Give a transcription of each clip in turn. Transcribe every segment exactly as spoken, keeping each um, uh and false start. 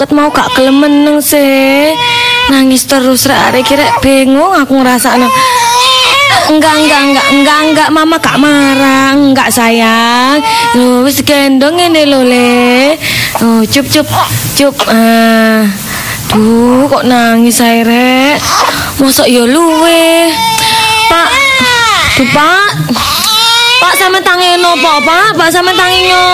ket mau gak gelem meneng sih. Nangis terus rek arek kira bingung aku ngrasakno. Enggak, enggak, enggak, enggak, enggak, mama gak marah, enggak sayang. Loh, wis gendong ini lho le. Oh, cup, cup, cup. Ah, duh, kok nangis saya rek. Mosok ya luwe. Pak, duh pak. Pak sama tangino apa, pak? Pak sama tangino.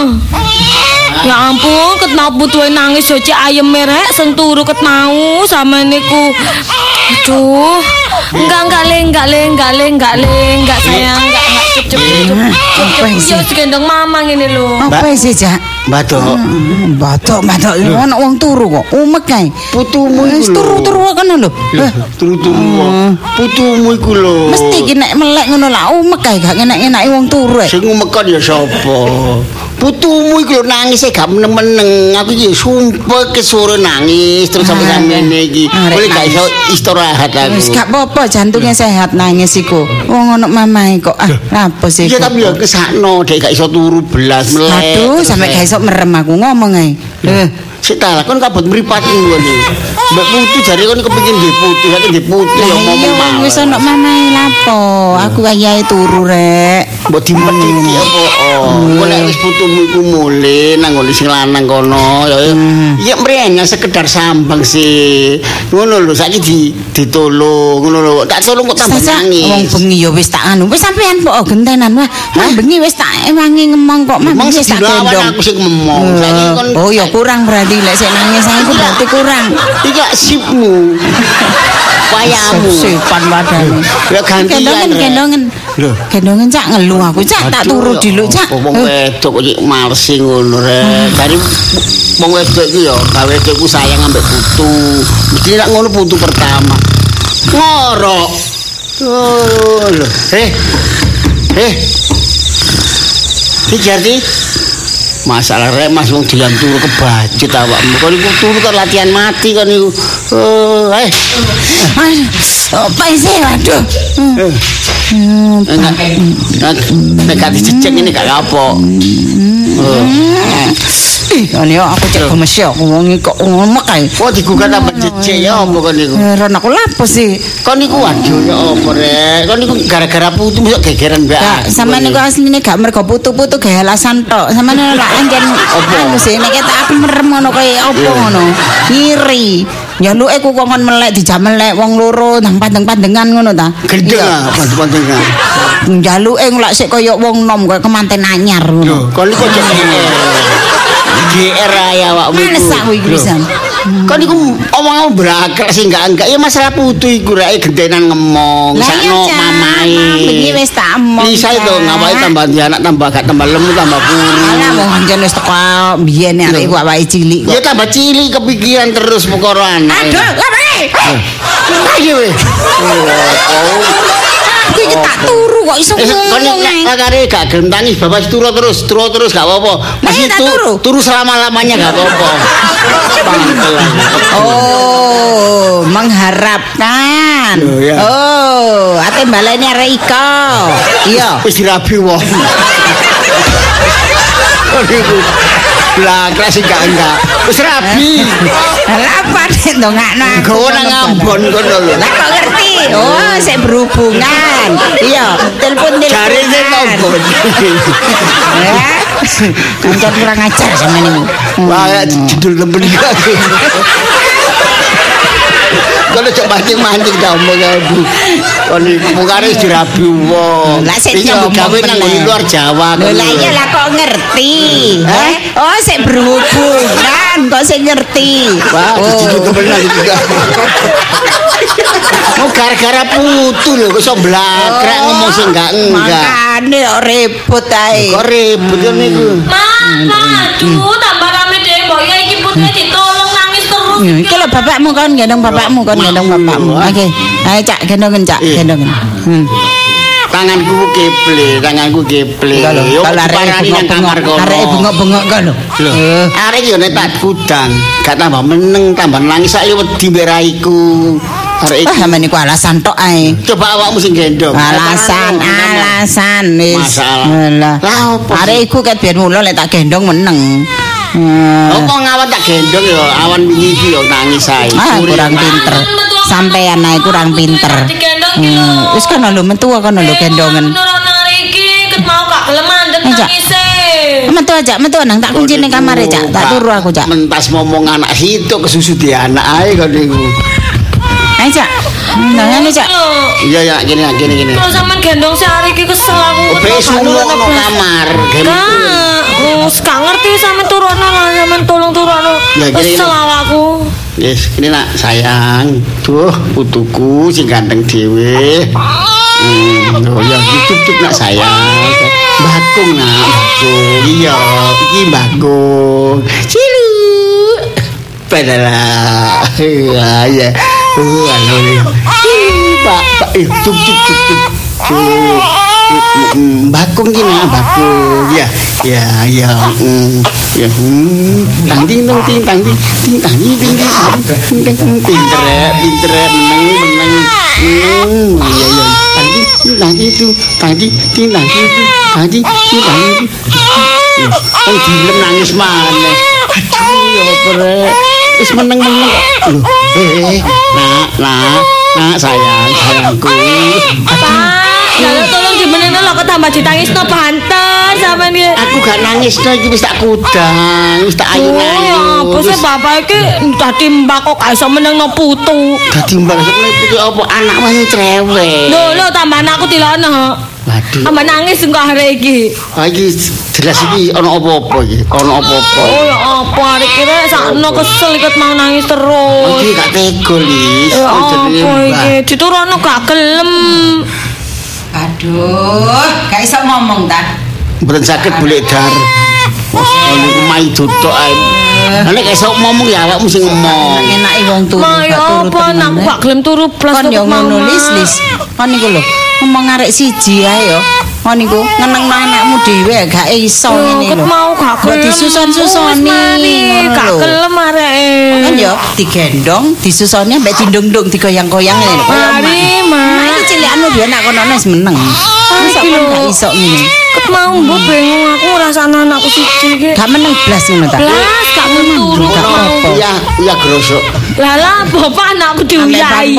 Ya ampun, ket mau putuhe nangis yo cek ayem merek sing turu ket mau sama niku. Aduh. Enggak, enggak le, enggak le, enggak le, enggak le, enggak sayang, enggak, enggak cup, cup, cup, cup, cup, yo gendong mama ngene lho. Apa sih, Jak? Bathok. Bathok, bathok ana wong turu kok. Umek kae. Putumu Wis iku lho. turu-turu kan lho. Turu-turu. Putumu iku lho. Mesti ki nek melek ngono lah umek kae gak enak-enake wong turu. Sing ngumekon ya sapa? Putumu iku lho nangis e gak meneng-meneng. Aku iki sumpah kesore nangis terus sampe sampeyan iki. Boleh gak iso istirahat aku. Wis gak apa-apa jantungnya sehat nangis iku. Wong ono mamae kok. Ah, apa sih? Iya tapi ya kesakno dek gak iso turu belas melek. Aduh, sampe gak iso merem aku ngomong ae. Eh, sik ta kon kabut mripat ngene. Mbak Putu jare kon kepengin nggih putu, saiki nggih putu ya ngomong mawon. Wis ono mamae lapo. Aku ayahe turu rek. Mbok dimpetiki apa? Kok nek wis putumu iku mule nang ngene sing lanang kono ya ya mrenya sekedar sambang sih. Ngono lho saiki di ditolong ngono lho. Tak tolong kok tambah nangis. Wong bengi ya wis tak anu. Wis sampean kok gentenan wah. Mang bengi wis tak ewangi ngomong kok mang wis tak gendong. Aku sing ngomong. Saiki kon oh ya kurang berarti lek sik nangis aku berarti kurang. Iki sipmu. Wayamu. Sipan wadane. Ya gantian. Gendongen gendongen. Lho, gendongen cak ngelu aku cak tak turu diluk cak. Wong wedok kok iki males ngono rek. Dari wong wedok iki ya gawe wedokku sayang ambek putu. Mesti nek ngono putu pertama. Ngorok. Oh lho. Eh. Eh. Iki Jardi. Masalah rek Mas wong diam turu kebacut awakmu. Kon iku turu kan latihan mati kon iku. Oh, eh. Apa sih waduh. Nek gak dicecek ini gak kapok. Ih, ane aku cek gemes ya wong iki kok ngomek kae. Oh digugat tambah cecek ya apa kon niku? Heran aku lapo sih. Kon niku waduh ya apa rek? Kon niku gara-gara putu mosok gegeran mbak. Gak, sampean niku asline gak mergo putu-putu gawe alasan tok. Sampean lak anjen anu sih nek ketok aku merem ngono kaya apa ngono. Ngiri. Nyaluke ku kongkon melek dijam melek wong loro nang pandeng-pandengan ngono ta. Gendeng ah pandeng-pandengan. Njaluke nglak sik kaya wong nom kaya kemanten anyar ngono. Kon niku cek G R ya awakmu. Males aku iki pisan. Kon niku omong brakek sing enggak enggak ya masalah putu iku rek gentenan ngomong sakno mamae. Iki wis tak omong. Bisa itu ngawake tambah anak tambah gak tambah lemu tambah kuru. Alah wong anjen wis teko biyen arek iku awake cilik. Ya tambah cilik kepikiran terus perkara anak. Aduh, lape. Ayo weh. Aku iki tak turu kok iso ngomong. Kon kare gak gelem tangis bapak turu terus, turu terus gak apa-apa. Masih turu. Turu selama-lamanya gak apa-apa. Oh, mengharapkan. Oh, ate baleni arek iko. Iya. Wis dirabi wong. Niku. Lah, kelas enggak enggak. Wis rabi. Lah apa ndongakno aku. Gowo nang Ambon kono lho. Lah kok ngerti? Oh, sik berhubungan. Iya, telepon telepon. Cari sing Ambon. Ya. Kancan kurang ajar sama niku. Wah, judul temen iki. Kalau cok mancing-mancing ta omong aku. Kon iki mungkare dirabi wong. Lah sik nyambut gawe nang luar Jawa. Lah iya lah kok ngerti. Eh? Oh, sik berhubungan kok sik ngerti. Wah, jujur temenan iki. Mau gara-gara putu lho kok iso blakrek ngomong sing enggak enggak. Makane kok ribut ae. Kok ribut yo niku. Mama, aduh tambah rame deh mbok ya iki putune ditolong nangis terus. Iki lho bapakmu kan gendong bapakmu kan gendong bapakmu. Oke. Ayo Cak gendongen Cak, gendongen. Hmm. Tanganku keple, tanganku keple. Yo parani nang kamar kono. Arek bengok-bengok kok lho. Lho. Arek yo nek tak gudang, gak tambah meneng, tambah nangis sak yo wedi meraiku. Arek iki sampe niku alasan tok ae. Coba awakmu sing gendong. Alasan, alasan wis. Masalah. Lah opo? Arek iku ket biyen mulo lek tak gendong meneng. Hmm. Apa ngawan tak gendong ya awan wingi iki ya nangis ae. Ah, kurang pinter. Sampeyan ae kurang pinter. Hmm, wis kana lho metu kana lho gendongen. Iki ket mau gak gelem mandek nangise. Metu aja, metu nang tak kunci ning kamar Cak. Tak turu aku Cak. Mentas ngomong anak situ kesusu di anak ae kok niku. Ayo Cak. Nang ngene Cak. Iya ya gini gini gini. Kalau sampean gendong si hari iki kesel aku. Besok lu ono kamar. Nah, gak ngerti sampean turunno lah, sampean tolong turunno. Kesel aku. Yes, ini nak sayang. Duh, putuku sing ganteng dhewe. Hmm, oh ya cukup nak sayang. Bakung nak, bakung. Iya, iki bakung. Cilu. Padahal. Ya, ya. Oh, anu ni. Pak, pak, eh, cukup, cukup, cukup. Bakung gini, bakung. Ya, ya, ya. Ya, tang ding dong ting tang ding ting tang ding ding ding ding pinter pinter meneng meneng meneng ya ya tang ding tang ding tu tang ding ting tang ding tang ding ting tang ding kan dilem nangis maneh aduh ya pere wis meneng meneng lho eh nak nak nak sayang sayangku Pak, tolong dimenengno lho kok tambah ditangisno banter sampean iki. Aku gak nangis no iki wis tak kudang, wis tak ayu-ayu. Apa sih bapak iki dadi mbak kok gak iso menengno putu. Dadi mbak putu apa anak wae cerewet. Lho lho tambah anakku dilono. Waduh. Tambah nangis engko arek iki. Ha iki jelas iki ono apa-apa iki, ono apa-apa. Oh ya apa arek iki rek sakno kesel ikut mau nangis terus. Iki gak tega Lis. Apa iki diturono gak gelem. Aduh, gak iso ngomong ta. Mboten saged boleh dar. Oh niku mai tutuk ae. Nek gak iso ngomong ya awakmu sing ngomong. Enake wong turu gak turu. Apa anakku gak gelem turu blas kok yo ngono Lis. Kon niku lho, ngomong arek siji ae yo. Kon niku ngenengno anakmu dhewe gak iso ngene lho. Ket mau gak gelem disusun-susoni. Gak gelem areke. Kan yo digendong, disusoni mbek dindung-dung digoyang-goyang ngene lho. Mari, Mak. Iki cilikanmu biyen nak kono wis meneng. Masa kon gak iso ngene. Ket mau mbok bingung aku ngrasakno anakku siji iki. Gak meneng blas ngono ta. Blas gak turu gak apa. Iya, iya grosok. Lah lah bapak anakku diuyai.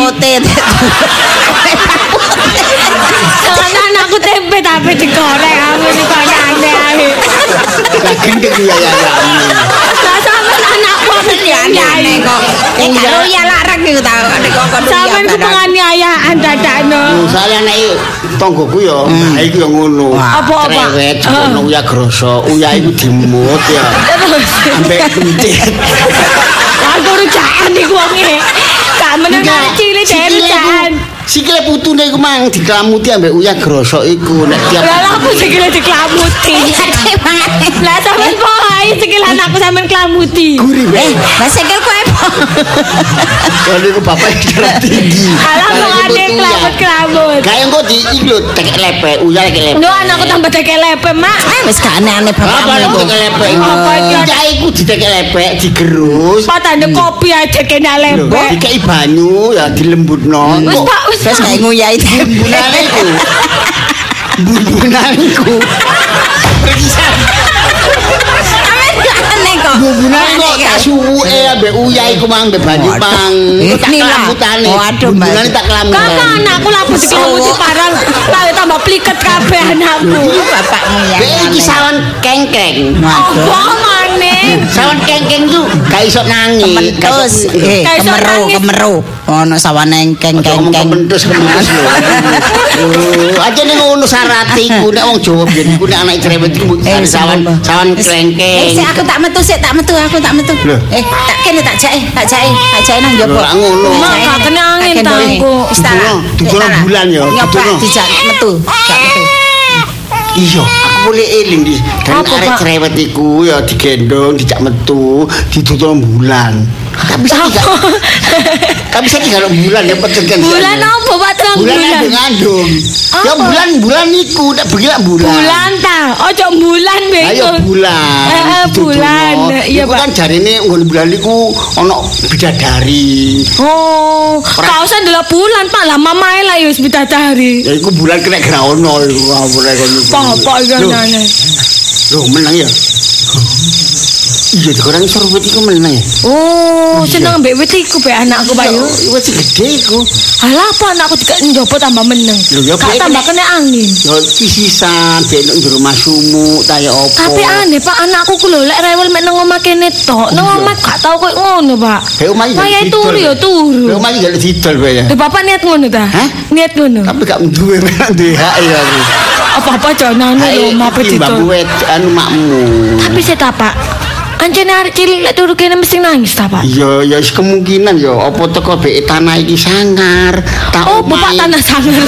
Jangan anakku tempe tapi digoreng aku iki kok nyane ae. Lah gendeng ya ya. Lah sampean anakku diuyai kok. Eh karo ya larang iku ta nek kok kon. Sampeyan ku penganiayaan dadakno. Saya nek tonggoku ya, nah iku ya ngono. Apa-apa? Cerewet, ngono uya grosok, uya iku dimut ya. Ambek pentit. Aku rujakan iku wonge. Gak meneng cilik dhewe rujakan. Sikile putune iku mang diklamuti ambek uya grosok iku nek tiap. Lah aku sikile diklamuti. Lah sampean pokoke sikil anakku sampean klamuti. Gurih Eh, lah sikilku apa? Kalau iku bapak darah tinggi. Alah kok ade klamut-klamut. Kayak engko di iki lho tekek lepek, uya tekek lepek. Lho anakku tambah tekek lepek, Mak. Eh wis gak aneh-aneh bapakmu Apa iku. tekek lepek? Apa iki? Uya iku ditekek lepek, digerus. Patane kopi aja kena Lho, lepek. dikei banyu ya dilembutno. Wis Pak, wis. Wis gak nguyai Bumbunane iku. Bumbunane iku. Pergisan. aneh kok. Bumbunane kok tak suwuke ambek uya iku mang ambek banyu mang. Tak kelamutane. Waduh, bumbunane tak kelamutane. Kakak anakku lapo dikemuti parang lah tambah pliket kabeh anakku. Iki bapakmu ya. Be iki sawan kengkeng. Apa maneh? Sawan kengkeng ku gak iso nangis. Kementus, eh Gak iso kemeru, nangis. kemeru. Ono sawane keng-keng-keng. Kementus kementus lho. Oh, aja ning ngono syarat iku nek wong Jawa biyen iku nek anak cerewet iku Eh, sawan sawan Eh, klengkeng. sik aku tak metu sik, tak metu, aku tak metu. Loh. Eh, tak kene tak jake, tak jake, tak jake nang njaba. Lho, lah ngono. Mak, gak kena angin tangku. Wis tak. Dudono, dudono bulan ya, Nyoba dudono. dijak metu, jak metu. Iya, aku boleh eling di. Dan Apa, arek Pak? cerewet iku ya digendong, dijak metu, ditutul bulan. Tapi saiki gak. Tapi saiki gak ono bulan ya pecekan. Bulan apa Pak terang Bulan bulan? ada ngandung. Ya Apa? bulan bulan iku tak begini bulan. Bulan ta. Ojo bulan Ayo bego. bulan. Eh, eh, Ditutul. bulan. Iya, Iku Pak. kan jarine nggon bulan iku ono bidadari. Oh, kau usah ndelok bulan Pak, lah mamae lah ya wis bidadari. Ya iku bulan kena graono iku ngawur kono. Bapak iki Loh, nyanyi. Loh menang ya. Iya digoreng serwit iku meneng. Oh, seneng mbek wit iku mbek anakku Pak yo. Wit gede iku. Alah apa anakku dik njopo tambah meneng. Lho ya Gak tambah kena angin. Yo pisisan ben nang jero masumuk ta ya apa. Tapi aneh Pak anakku ku lho lek rewel mek nang omah kene tok. Nang omah gak tau koyo ngono Pak. Kayak omah iki. Kayak turu ya turu. Kayak omah iki gak didol bae ya. Lho Bapak niat ngono ta? Hah? Niat ngono. Tapi gak duwe duwe hak ya aku. Apa-apa jonane lho omah Mbak pedito. wet anu makmu. Tapi saya tak Pak. Anjene arek cilik lek turu kene mesti nangis ta Pak? Iya, ya wis kemungkinan ya apa teko beke tanah iki sangar. Tak Oh, Bapak omahi. tanah sangar.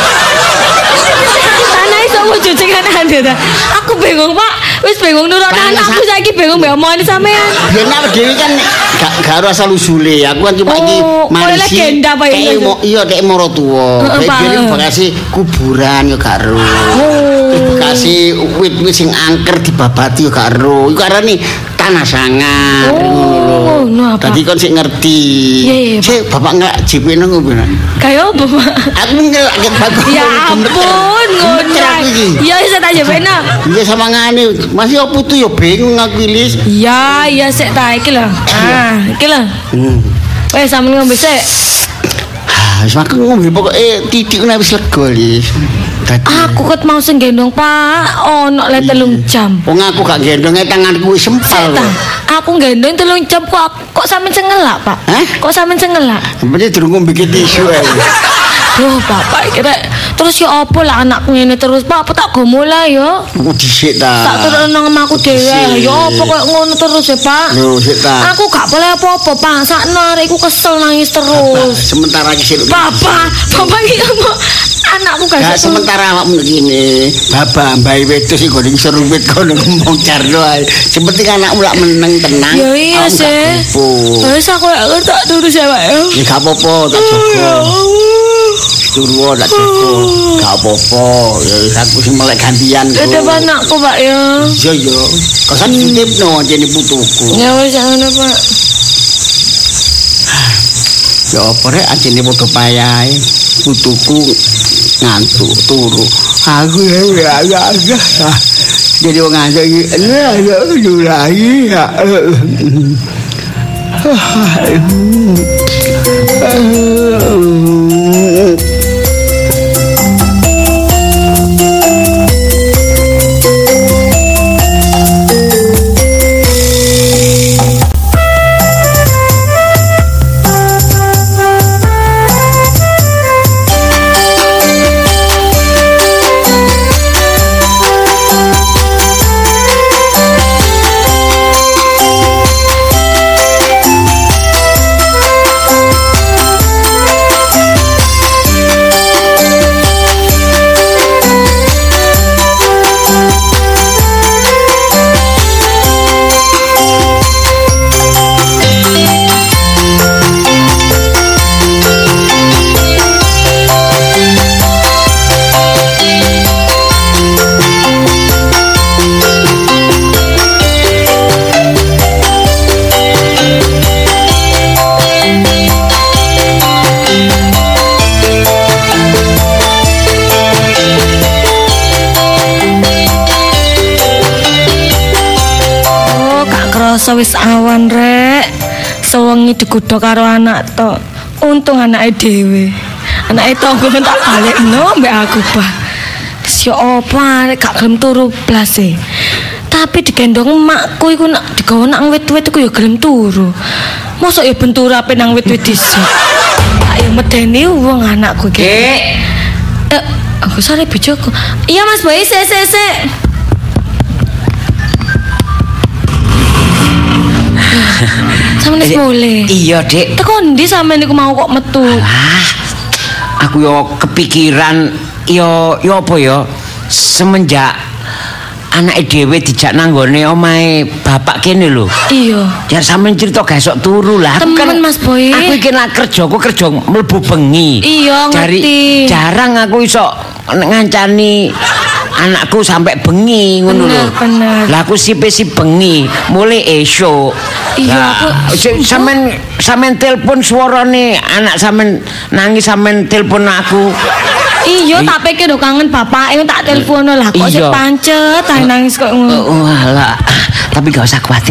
Tanah iso wujud kan ande ta. Aku bingung Pak. Wis bingung nurut Tanah anakku sa- saiki bingung mbek omongane sampean. Ya nek dhewe kan gak gak ora asal usule. Aku kan cuma Oh, iki koyo legenda apa ya? Kayak mo- iya dek moro tuwa. Heeh, Pak. Dhewe bekasi kuburan ya gak ero. Terus bekasi wit-wit sing angker dibabati ya gak ero. Iku arane tanah sangar Oh, ngono lho. no apa? Dadi kon sik ngerti. Iya, iya, Pak. Sik bapak ngelak J P nang ngono. Kayak apa Pak? Aku ngelak ket bagus. Ya ampun, ngundang. Ya wis tak jebena. Iya sama ngane. Masih opo tuh ya bingung aku Lis. Ya, ya sik ta iki lho. Ah, iki lho. Hmm. Wes sampeyan ngombe sik. Ah, wis makan ngombe pokoke titik wis lega Lis. Dadi Aku ket mau sing gendong Pak, ono le telung jam. wong aku gak gendonge tanganku wis Sik sempal. ta. Aku gendong telung jam kok kok sampeyan cengelak, Pak? Hah? Kok sampeyan cengelak? Sebenarnya durung ngombe tisu ae. Duh, Bapak kira terus ya apa lah anakku ngene terus, Pak? Apa tak go mulai yo? Aku dhisik Tak ta. turun nang omahku dhewe. Ya apa kok ngono terus ya, Pak? Lho, sik ta. Aku gak boleh apa-apa, Pak. Sakno arekku kesel nangis terus. Sementara iki sik. Bapak, Bapak iki apa? Anakku gak Ya iso. sementara awakmu ngene, baba mbae wedhus iki goreng serupit kono ngomong carno ae. Seperti anakmu lak meneng tenang. Ya iya awakmu gak sih. kumpul. Wis aku lek tak terus ya, Pak. Ya. Ya gak apa-apa, tak jaga. Turu tak jaga. Gak apa-apa. Ya wis aku sing melek gantian. kok. Tetep anakku, Pak ya. Iya ya. Kosan dititipno jene putuku. Ya wis ngono, Pak. Ya apa rek ajene padha payahe. Putuku ngantuk turu. Aku ya ya ya. ya. Jadi wong ngantuk iki ya ya lagi ya. Krasa wis awan rek. Sewengi digodha karo anak tok. Untung anake dhewe. Anake tangga tak balekno mbek aku, Pak. Wis yo apa rek gak gelem turu blas e. Tapi digendong emakku iku nak digawa nang wit-wit iku yo gelem turu. Mosok yo bentur ape nang wit-wit dhisik. Tak yo medeni wong anakku iki. Eh, aku sare bojoku. Iya Mas Boy, sik sik sik. Sampeyan wis mulai. Iya, Dik. Teko ndi sampeyan niku mau kok metu? Ah, aku yo kepikiran yo yo apa yo semenjak anake dhewe dijak nanggone omahe bapak kene lho. Iya. Ya sampeyan cerita gak esok turu lah. Aku Temen, Mas Boy. Aku iki nak kerja, aku kerja mlebu bengi. Iya, Jari ngerti. jarang aku iso ngancani anakku sampai bengi ngono lho. Bener, bener. Lah aku sipe-sip bengi, mulai esuk. Iya, Lah, aku- si- sampean sampean telepon suarane anak sampean nangis sampean telepon aku. Iya, tak pikir lho kangen bapake tak telepono lah kok sik Iya. pancet ae nangis kok ngono. Oh, alah. Tapi gak usah khawatir, Dik.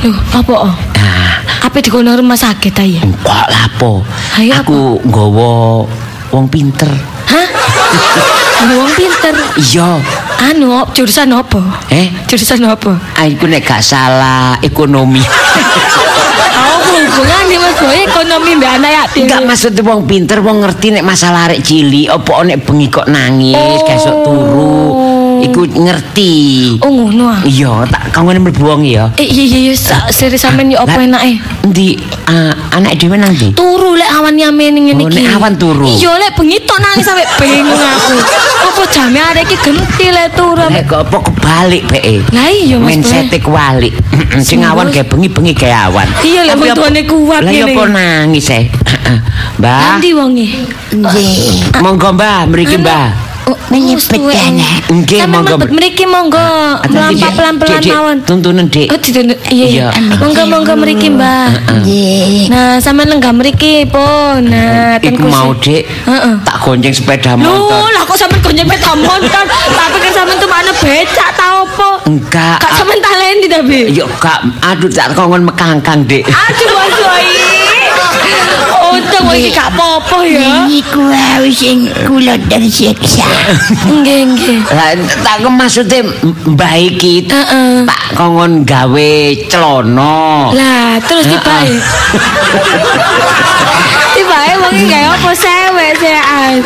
Loh, apa? Nah, Apa dikono rumah sakit ta ya? enggak lapo. Ayo, Aku nggawa wong pinter. Hah? Wong pinter. Iya. Anu, jurusan apa? Eh, Jurusan apa? aku nek gak salah ekonomi. Oh, hubungannya Mas Boy ekonomi mbak anak yatim. Enggak maksud wong pinter wong ngerti nek masalah arek cilik apa nek bengi kok nangis, Oh. besok turu. Iku ngerti. Oh, ngono ah. Iya, tak kanggo mlebu wong ya. Eh, iya iya iya, sa- seri sampean yo apa Lah, enake? Endi ah, anak dhewe nang ndi? Turu lek awan nyamene ngene Oh, iki. nek awan turu. Iya lek bengi tok nangis sampe bingung aku. Apa jame arek iki genti lek turu. Nek kok apa kebalik beke. Lah iya Mas Boy. Mindset kebalik. Sing awan kayak bengi-bengi kayak awan. Iya, lek Tapi wong apa- tuane kuat Lah ya ngene. apa nangis eh. Mbah. Nanti wonge. Nggih. Monggo Mbah, mriki Mbah. Oh, Menyebut anak. Nggih, Sampe monggo. mlebet mriki monggo. Mlampah pelan-pelan Dik, Dik, mawon. tuntunan Dik. Oh, dituntut. Iya. Iya. Monggo monggo mriki, Mbak. Nggih. Nah, sampean lenggah mriki pun. Nah, ten Iku kursi. mau Dik. Heeh. Tak gonceng sepeda Loh, motor. lah kok sampean gonjeng sepeda motor? Tak pikir sampean tuh mana becak ta opo? Enggak. Kak sampean talenti tapi. Yo kak, aduh tak kongon mekangkang Dik. Aduh, Mas Boy. Untung iki gak apa-apa ya. Niku wae sing kula tersiksa. Nggih, nggih. Lah tak maksudnya mbah iki Heeh. tak kongon gawe celana. Lah, terus tibae. Tibae wong iki gawe apa sewek sean.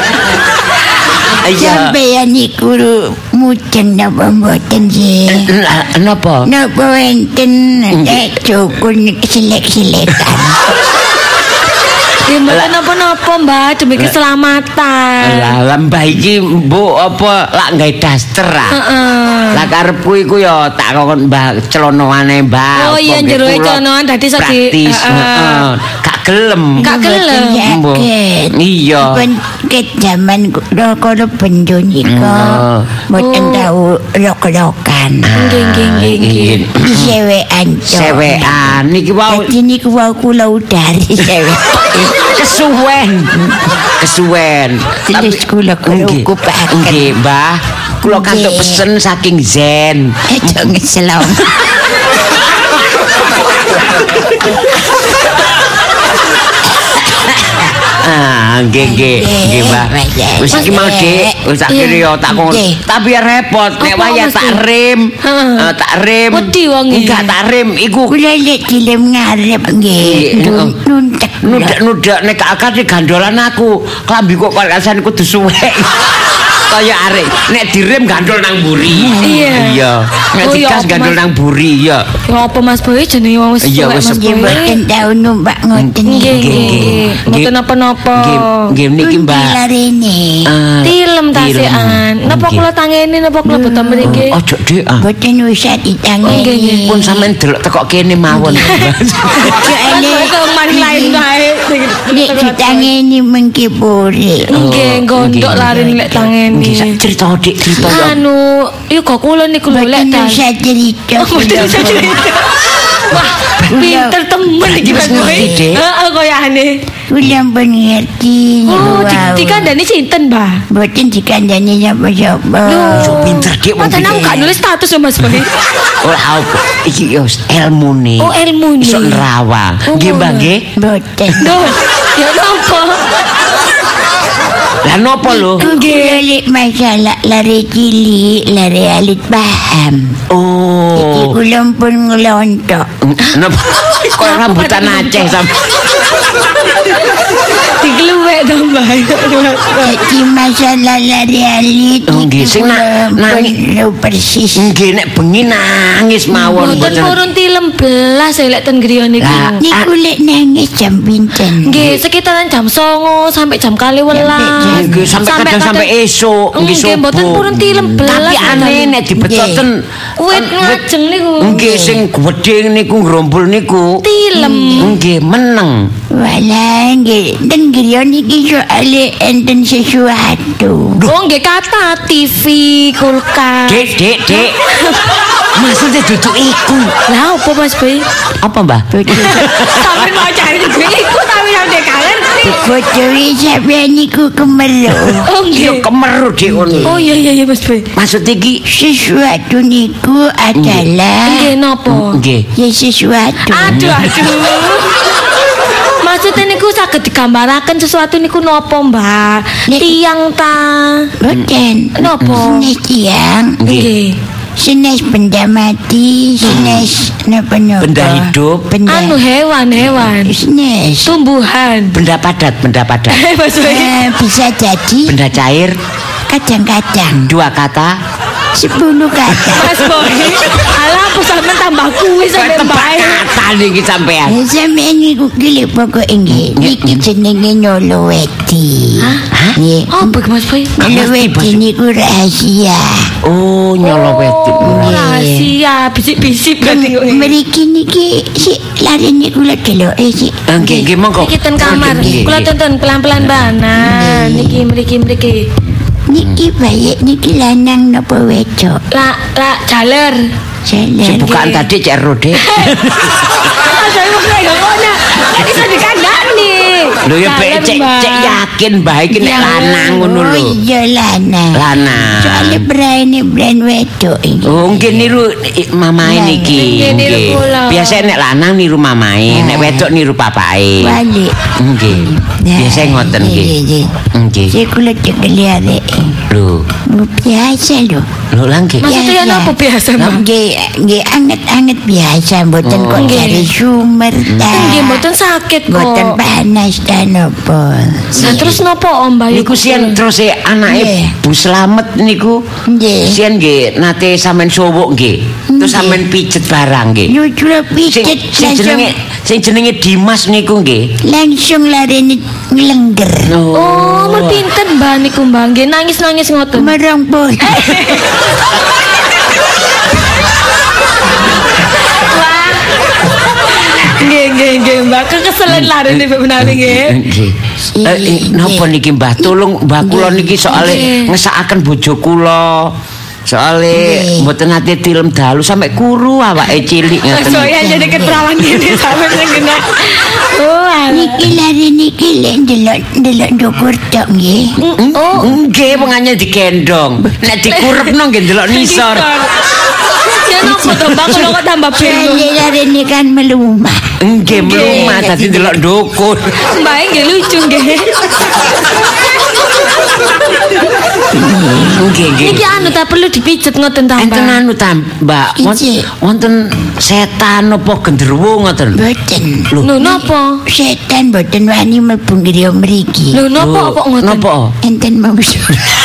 Iya. Sampeyan niku mujeng napa mboten sih? Lah napa? Napa enten nek cukun selek-selekan. Ya mboten napa-napa, Mbak, demi keselamatan. Lah lah mbah iki mbok apa lak gawe daster ah. Heeh. Lah karepku iku ya tak kongon mbah celanaane mbah. Oh iya, apa jero mbek kula celanoan dadi iso di- praktis. heeh. Heeh. Gak gelem. Gak gelem. Mbok. Yakin. Iya. Ben ket zaman kula kula benjo nika. Oh. Mboten Oh. tau rok-rokan. Nggih, nggih, nggih, nggih. Sewekan. Sewekan niki wau Dadi niku wau kula udari sewek. kesuwen. Kesuwen. Terus kula kula Nggih. kupaken. Nggih, Mbah. Kula kantuk Nggih. pesen saking Zen. Aja ngeselong. Ah, nggih nggih, nggih, Mbah. Wis iki mau Dik, wis tak kira yo tak kon. Nggih. Tapi ya repot nek Apa, waya Mas, tak Dik? rem. Heeh. Eh, tak rem. Wedi wonge. Enggak tak rem iku Kula lek dilem ngarep nggih. Nggih, Nun- Nuntek. nudak-nudak nek akad gandolan aku. Klambi kok kalasan kudu suwek. Kaya arek nek direm gandol nang buri. Iya. Iya. Nek Oh, iya, digas apa, gandol Mas? nang buri ya. Ya apa Mas Boy jenenge wong wis Iya, tuwek, wis Mas sepuh. Boy. Mboten tau numpak ngoten Nggih, niku. nggih, nggih. Mboten Nggih. napa-napa. Nggih, nggih niki Mbak. Larene. Ah, Tilem tasekan. Napa Nggih. kula tangeni napa kula boten mriki? Ojo Dik. ah. Mboten usah Nggih, ditangeni. nggih. Pun sampean delok teko kene mawon. Soale Kok maning lain wae. nek ditangeni mengki puri. Nggih, gondok larin lek tangeni. Nggih, sak cerita Dik, cerita ya. Anu, iku kok kula niku lho lek Mboten dal. usah cerita. Mboten usah cerita. Wah, pinter temen iki Mas Boy. ngerti, Dek. Heeh, koyane. Kula pun ngerti. Oh, niku wau. dikandani sinten, Mbah? Mboten dikandani sapa-sapa. Yo pinter Dik wong Padahal aku iki. gak nulis status ya Mas Boy. Ora apa. Iki yo ilmu nih. Oh, ilmu nih. Iso nerawang. Oh, Nggih, Mbah ngono. nggih. Mboten. Duh, ya napa? Lah napa lho? Kula lek masalah lari cilik, lari alit paham. Jadi Oh. kula pun ngelontok. Napa? Kok rambutan Aceh sampe. Dikeluwek to, Mbah. Jadi masalah lari alit Oh, nggih, sing na- nangis. nang persis. Nggih nek bengi nangis mawon Mboten mboten. purun tilem belas ya lek ten griya niku. Lah, Niku lek nangis jam pinten. Nggih, sekitaran jam songo sampai jam kali welas. Nggih sampai kadang sampai esuk nggih Nggih, subuh. mboten purun tilem belas. Tapi aneh nek dibetoten Wit ngajeng niku. nggih sing gedhe niku ngrumpul niku. Tilem. Nggih meneng. Walah nggih, den griya niki soale enten sesuatu. Oh, nggih kata T V, kulkas. Dek, dek, dek. Maksudnya duduk iku. Lah apa Mas Boy? Apa, Mbah? Sampai mau cari juga iku tapi yang dia kangen. Foto sampeyan niku kemeru. Oh Yo nggih. kemeru dik ngono. Oh iya iya iya Mas Boy. Maksud iki Sesuatu niku adalah Nggih napa? nggih. ya sesuatu. Aduh aduh. Maksudnya niku saged digambaraken sesuatu niku napa, Mbak? Nek- Tiang ta. Boten. Napa? Senes tiang, Nggih. senes benda mati, senes napa-napa. Benda hidup. Benda. Anu hewan-hewan. Senes. Tumbuhan. Benda padat, benda padat. Mas Boy. Eh, bisa jadi Benda cair, kadang-kadang dua kata. sepuluh kata. Mas Boy. Alah aku sampe tambah kuwi sampe bae. Kata niki sampean. Eh, Sampeyan niku gile pokoke nggih. Niki jenenge Nyoloweti. Hah? Nggih. Oh, Pak Mas Boy. Nyoloweti niku rahasia. Oh, nyoloweti. Oh, rahasia, bisik-bisik berarti kok. Mriki niki si lari niku lho deloke sik. Nggih, nggih monggo. Niki ten kamar. Nggih, Kula nggih. tonton pelan-pelan banan. Niki mriki mriki. Niki bayi niki lanang napa wedok? La la jaler. Jalan. Si bukaan tadi cek rode. Saya mau kayak ngono. Kan iso dikandani. Lho ya Jaler, be cek Mbak. cek yakin bae iki nek Jaler. lanang ngono Oh lho. iya lanang. Lanang. Soale brane brand wedok iki. Oh, nggih niru i- mamae niki. Nggih, niru Nggih. kula. Biasa nek lanang niru mamae, nek wedok niru papae. Balik. Nggih. Biasa ngoten nggih. Nggih. Nggih. Saya kula cekeli arek. Lho, Biasa lho. lho lah nggih. Maksudnya Biasa. apa biasa, Mbak? Nggih, nggih anget-anget biasa mboten kok Nggih. cari sumber ta. Nggih mboten sakit kok. Mboten panas ta napa. Nah, terus nopo Om Bayu? Niku sian terus e anake Nggih. Bu Slamet niku. Nggih. Sian nggih nate sampean sowuk nggih. Terus sampean pijet barang nggih. Lucu Sing, pijet sing jenenge langsung sing jenenge Dimas niku nggih. langsung lari ngelengger. Oh, mun pinten Mbak niku Mbak? Nggih nangis-nangis ngoten. Merong pun. Nggih nggih nggih Mbak. Kekeselen lari nih Mbak menawi nggih. Nggih. Eh, eh, napa niki Mbah? Tolong Mbah kula niki soalé Nggih. ngesakaken bojo kula. Soale Nggih. mboten nate tilem dalu sampe kuru awake cilik ngoten. Soalnya jadi keterawan gini sampe sing kena. Oh, alah. Niki lari niki lek ndelok ndelok ndukur tok nggih. Oh, nggih pengane digendong. Nek dikurepno nggih ndelok nisor. Ya nopo to Mbak kalau kok tambah bingung. Saya lari ini kan melumah. Nggih mlumah dadi ndelok ndukur. Mbak nggih lucu nggih. Nggih nggih. Niki anu tak perlu dipijet ngoten ta Enten Mbak. anu ta, Mbak. Won- Iji. Wonten setan apa genderuwo ngoten. Boten. Lho napa? Setan boten wani mlebu griya mriki. Lho napa kok ngoten? Napa? Enten mangsa.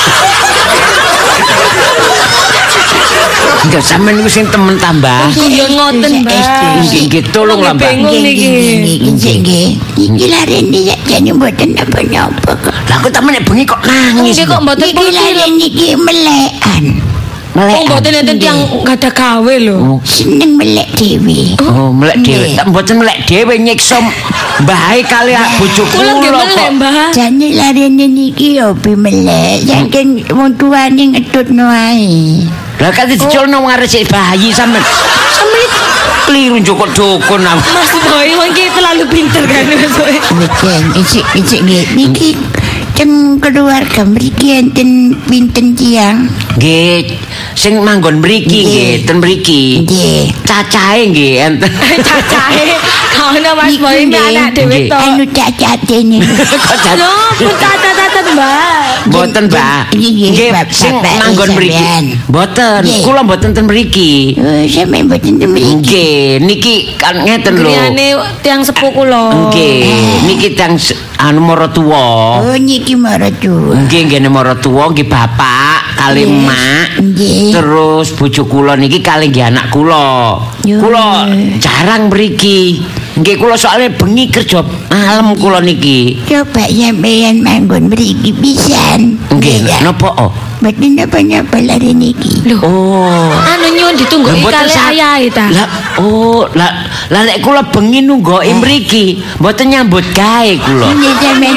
Enggak sampean niku sing temen tambah. Ya ngoten Mbak. Nggih nggih tolong lah Mbak. Bingung niki. Nggih nggih. Iki lari ini jane boten napa-napa kok. Lah kok temen nek bengi kok nangis. Nggih kok mboten Niki perlu lari film. niki melekan. Oh Melek. mboten enten tiyang gak ada gawe lho. Seneng melek dhewe. Oh, melek dhewe. Nggih. Tak mboten melek dhewe nyiksa mbahe kali bojo Kula nggih kula melek kok. Mbak. Jane lari niki opi melek. Saking wong tuane ngetutno ae. Lah kan diculno wong arek sik bayi sampean. Sampeyan kliru njokok dukun. ah. Mas Boy wong iki terlalu pinter kan Mas Boy. Betul, icik icik nggih. Niki teng keluarga mriki enten pinten tiyang? Nggih, sing manggon mriki nggih, ten mriki. Nggih. Cacahe nggih enten. Cacahe kaono Mas Boy Niki, ini anak dhewe nggih. to. Anu cacate nih. Kok cacahe? Lho, pun tata-tata Mbak. Mboten, Mbak. Nggih, nggih, Nggih, Bapak- sing bapak manggon mriki. sampean. Mboten, Nggih. kula mboten ten mriki. Oh, sampeyan mboten teng mriki. Nggih, niki kan ngeten lho. Griyane tiang sepuh kula. Nggih, niki tang se- anu maratuwa. Oh, niki maratu. Nggih, nggih maratuwa nggih bapak kali Nggih. emak. Nggih. Terus bojo kula niki kali nggih anak kula. Yo. Kula jarang mriki. Nggih kula soalnya bengi kerja malam kula niki. Coba sampeyan manggon mriki pisan. Nggih, ya. napa oh? Mboten napa-napa lari niki. Lho, Oh. anu nyuwun ditunggu Lah, mboten kali sa- ayahe ta. Lah, oh, lah lah nek kula bengi nunggoki mriki, mboten nyambut gawe kula. Nggih sampeyan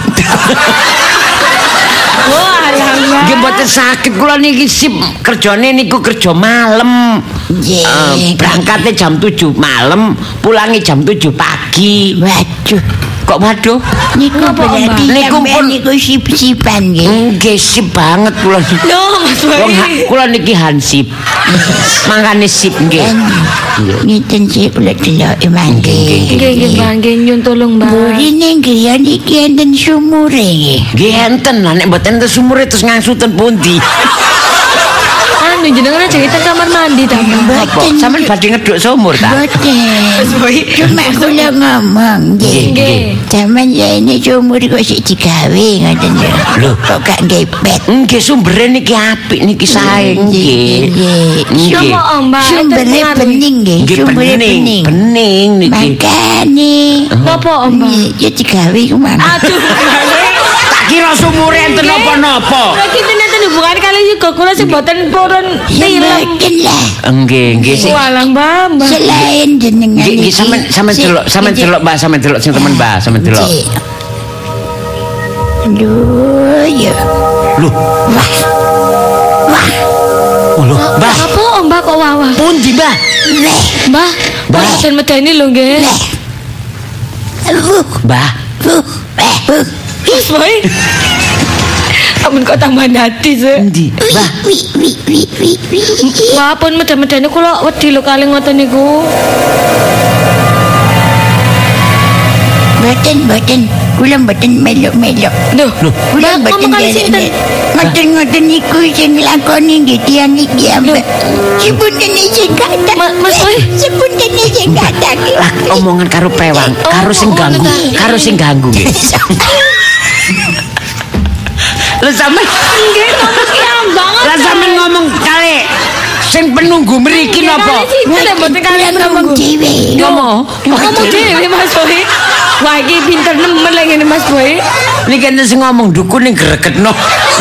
Wah, alah. Nggih mboten sakit kula niki sip kerjane niku kerja malam. Nggih. Eh, berangkatnya jam tujuh malam, pulangnya jam tujuh pagi. Waduh, kok waduh. Niku berarti Niku sampean pun- niku sip-sipan nggih. Nggih sip banget kula. Loh, Mas Boy. Wong ha- kula niki hansip. Mangkane sip nggih. Ngiten sih kula delok mangke. Nggih, nggih, Mbak, nggih nyun tolong, Mbak. Burine griya niki enten sumure nggih. Nggih enten lah nek mboten enten sumure terus ngangsuten pundi. Anu jenengan aja kita kamar mandi ta, Mbak. Apa? Sampeyan badhe ngeduk sumur ta? Boten. Mas Boy. Cuma kula ngomong nggih. Nggih. Zaman ya ini sumur kok sik digawe ngoten lho. Lho. Kok gak ngepet. Nggih sumbere niki apik niki sae nggih. Nggih. Coba, Mbak. Sumbere itu pengaruh. bening nggih. Nggih Sumbere bening, bening. bening niki. Makane. Napa, Mbak? Nggih, ya digawe kemana? Aduh, Mbak. Tak kira sumure enten napa-napa. Berarti itu nanti hubungan kali juga kula sing boten purun Ya film. mboten lah. Nggih, nggih sing Walang, Mbak, Mbak. Selain jenengan nggih nggih iki, sampean sampean si- delok, sampean iki- delok Mbak, sampean delok sing temen Mbak, sampean delok. Nggih. Aduh, ya. Lho, Wah. Wah. oh lho, Mbak. Apa, Om, Mbak kok wawah? Pundi, Mbak? Leh. Mbak, Mbak boten medeni lho nggih. Leh. Uh, Mbak. uh, eh, uh. Mas Boy. Amun kok tambah hati sih. Pundi, Mbak? Wi, wi, wi, wi, wi. Mbak pun meden-medeni kula wedi lho kali ngoten niku. Mboten, mboten. Kula mboten melok-melok. Lho, Kula Mbak mboten ngomong kali sinten? derek-derek. Ngoten-ngoten niku sing lakoni nggih tiyang iki ambek. Sepunten sing kata. Ma- Mas Boy. Sepunten sing kata. Lah omongan karo pewang, karo sing ganggu, karo sing ganggu nggih. Lah sampean Nggih, ngomong ki banget. lah sampean ngomong kali sing penunggu mriki napa? Kita mboten kalian ngomong ngomong. dhewe. Ngomong. Ngomong dhewe Mas Boy. Wah, iki pinter nemen lagi ngene Mas Boy. Niki enten sing ngomong dukun ning gregetno.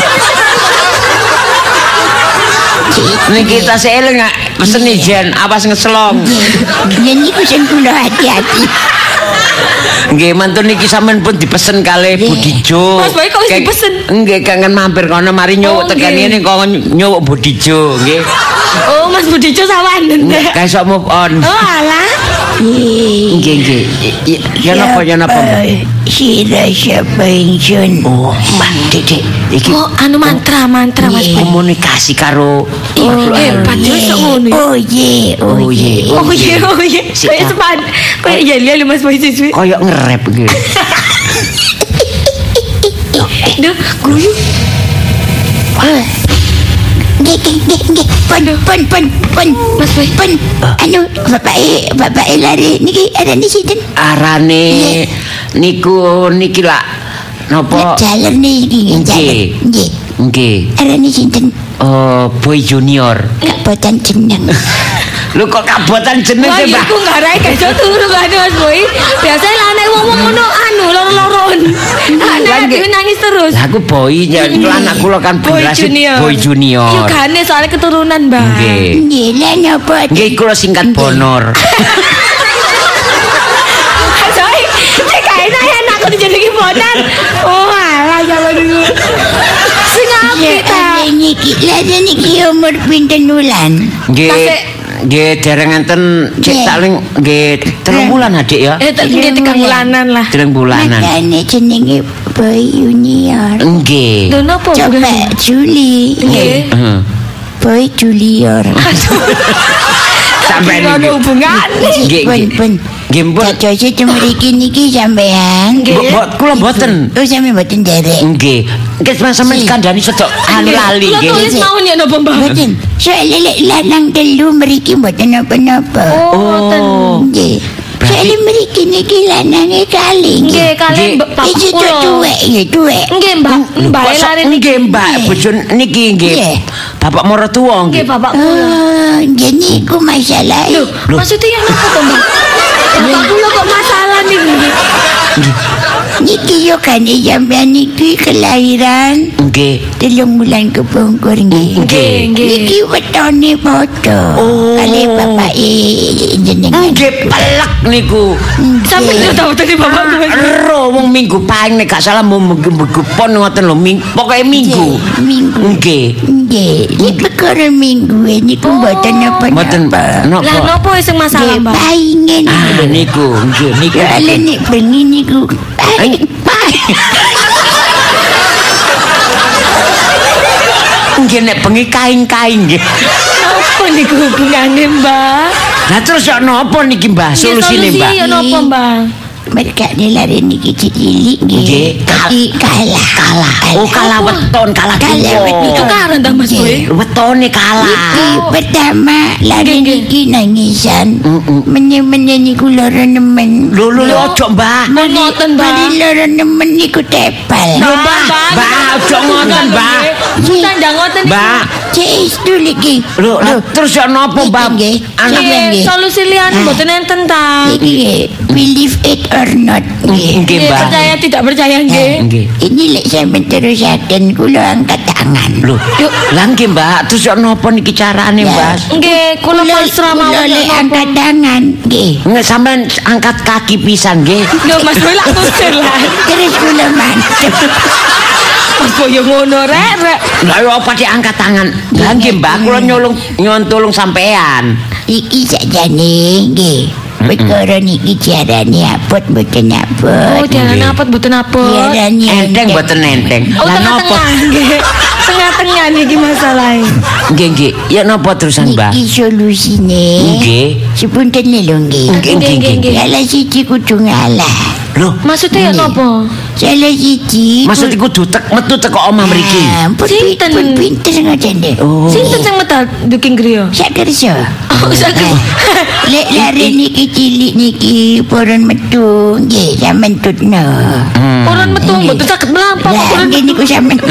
Niki tas eling nggak pesen ijen awas ngeslong. Ya niku sing kula hati-hati. Nggih mantun niki sampean pun dipesen kalih Budijo. Mas Boy, kok wis Kayak- dipesen? Nggih kangen mampir kono mari nyuwuk Oh, tekan nggih. ngene kok nyuwuk Budijo nggih. Oh, Mas Budijo sawanen. Kayak sok move on. Oh, alah. Nggih nggih. Y- Ya napa ya napa. Mbak? Sira siapa ingsun. Oh, Mbak Dek, iki Oh, anu mantra, mantra Mas Boy. komunikasi karo makhluk hebat halus. ya sok ngono. ya. Oh ye, oh Oh ye. ye. Oh iya, oh iya. Sik, Kayak ah. sepan. Kayak iya iya lho Mas Boy siswi. Kayak ngerep gitu. Duh, guyu. Ah. Nggih, nggih, nggih, nggih. Pun, pun, pun, pun. Mas Boy. Pun. Anu, bapak e, bapak e lari niki ada di sinten? Arane niku niki lah napa? Jalan niki, Nggih. jalan. Nggih. Nggih. Ada di sinten? Oh, Boy Junior. Kabupaten jeneng. Lu kok kabotan jeneng Wah, sih, iya Mbak? ku ngarai gak iso turu kan Mas Boy. Biasanya lah nek wong ngono anu loro-loron. Anak dhewe nangis terus. Lah aku Boy, ya anak kula kan Boy generasi Junior. Boy Junior. Yo gane soalnya keturunan, Mbak. Nggih. Nggih, lah napa? Nggih kula singkat Bonor. Soalnya cek gak enak ya anakku dijenengi bonan. Oh, alah jaman dulu. Sing Ya, apik ta. ada niki, lah ada niki umur pinten wulan. Nggih. Tasik. Nggih dereng enten cek Nggih. saling nggih telung bulan Adik ya. Eh, tak nggih tiga bulanan lah. Telung bulanan. Makanya jenenge Boy Junior. Nggih. Lho napa Coba bulan? Juli. Nggih. Heeh. Boy Junior. Sampai Ada niki. hubungan. Nggih, Pun, nggih. pun. Nggih, pun. Cocok mriki niki sampean. Bo- bo- Kula mboten. Oh, sampean mboten derek. Nggih. Nggih sampeyan kandhani sedok anu lali Kula nggih. tulis mau nek napa, Mbak? Mboten. Soale lek lanang telu mriki mboten napa-napa. Oh, ngoten. Nggih. Berarti- Soale mriki niki lanange kali. Nggih, kalian Nggih. bapak Iki tuh kula. tuwek, ya tuwek. Nggih, Mbak. Mbak Kok sok- lari nggih Mbak, bojo niki nggih. Nggih. Bapak maratuwa nggih nggih. bapak kula. Oh, nggih niku masalah. Loh, maksudnya yang apa tuh, Mbak? Bapak kula kok masalah nih? Niki yo kan sampean niki kelahiran Nggih. telung bulan kepungkur nggih. Nggih, nggih. Niki wetone foto. Oh. Kali bapak jenengan. Nggih pelek niku. Sampai yo tahu tadi bapak gue. Ero wong minggu paling nek gak salah mau minggu pon ngoten lho, pokoke minggu. Minggu. Nggih. Nggih, ini perkara minggu ini ku mboten Mboten napa-napa. Lah napa. nopo sing masalah, Nggih, Mbak? paingen. Ah niku, nggih niku. Soale nek bengi niku paing. Nggih nek bengi kaing-kaing nggih. Apa niku hubungane, Mbak? Lah terus yo napa niki Mbah? Solusine Mbah. Solusi yo nopo, Mbak? Mereka ni lari niki cilik Nggih. nggih. Tapi kalah. Kalah. Oh kalah weton, kalah Kalah kiwa. weton. Itu karan ta Mas Boy? Wetone kalah. Niki pertama lari Nggih, niki nangisan. Menye-menye niku loro nemen. Lho lho ojo Mbah. Ngoten, Mbak. Mari loro nemen niku tepal. Lho Mbah, Mbah ojo ngoten Mbah. Kita ndang ngoten niku. Mbah. Cek itu lagi. Lho lah, terus yo napa Mbah? Nggih. Anak Nggih. Nggih, solusi liyane mboten enten ta. Niki believe it or not. Nggih. Nggih Nggih, Mbah. percaya tidak percaya nggih. Nggih. Ini lek sampean terusaken kula angkat tangan. Lho, yuk lah nggih Mbah, terus yo napa niki carane Ya. Mbah? Nggih, kula pasrah Kula mawon lek nopo. angkat tangan. Nggih. Nggih sampean angkat kaki pisan nggih. Lho Mas Boy lak tusir lah. Terus kula mantep. Mas Boy yo ngono rek, rek. Lah yo apa diangkat tangan? Lah nggih Mbah, kula nyolong nyon tulung sampean. Iki sakjane nggih. Perkara niki jarane apot mboten Oh, apot. jangan apot mboten apot. Jarane Enteng mboten enteng. Oh, Lah napa? tengah-tengah nggih. Tengah-tengah niki masalahe. Nggih nggih, ya napa terusan Mbah? Niki solusine. Nggih. Sepunten lho nggih. Nggih nggih nggih. nggih. Salah siji kudu ngalah. Loh, Maksudnya ya nopo? Salah siji. maksud iku kudu tek metu teko omah mriki. Ah, pun Sinten? pun pinter ngoten deh. Oh. Sinten sing medal duking griya? Sak kerja. Oh, sakit. Lek lari niki cilik niki purun metu nggih sampean tutno. Orang metu mboten saged mlampah Lah orang. nggih niku sampean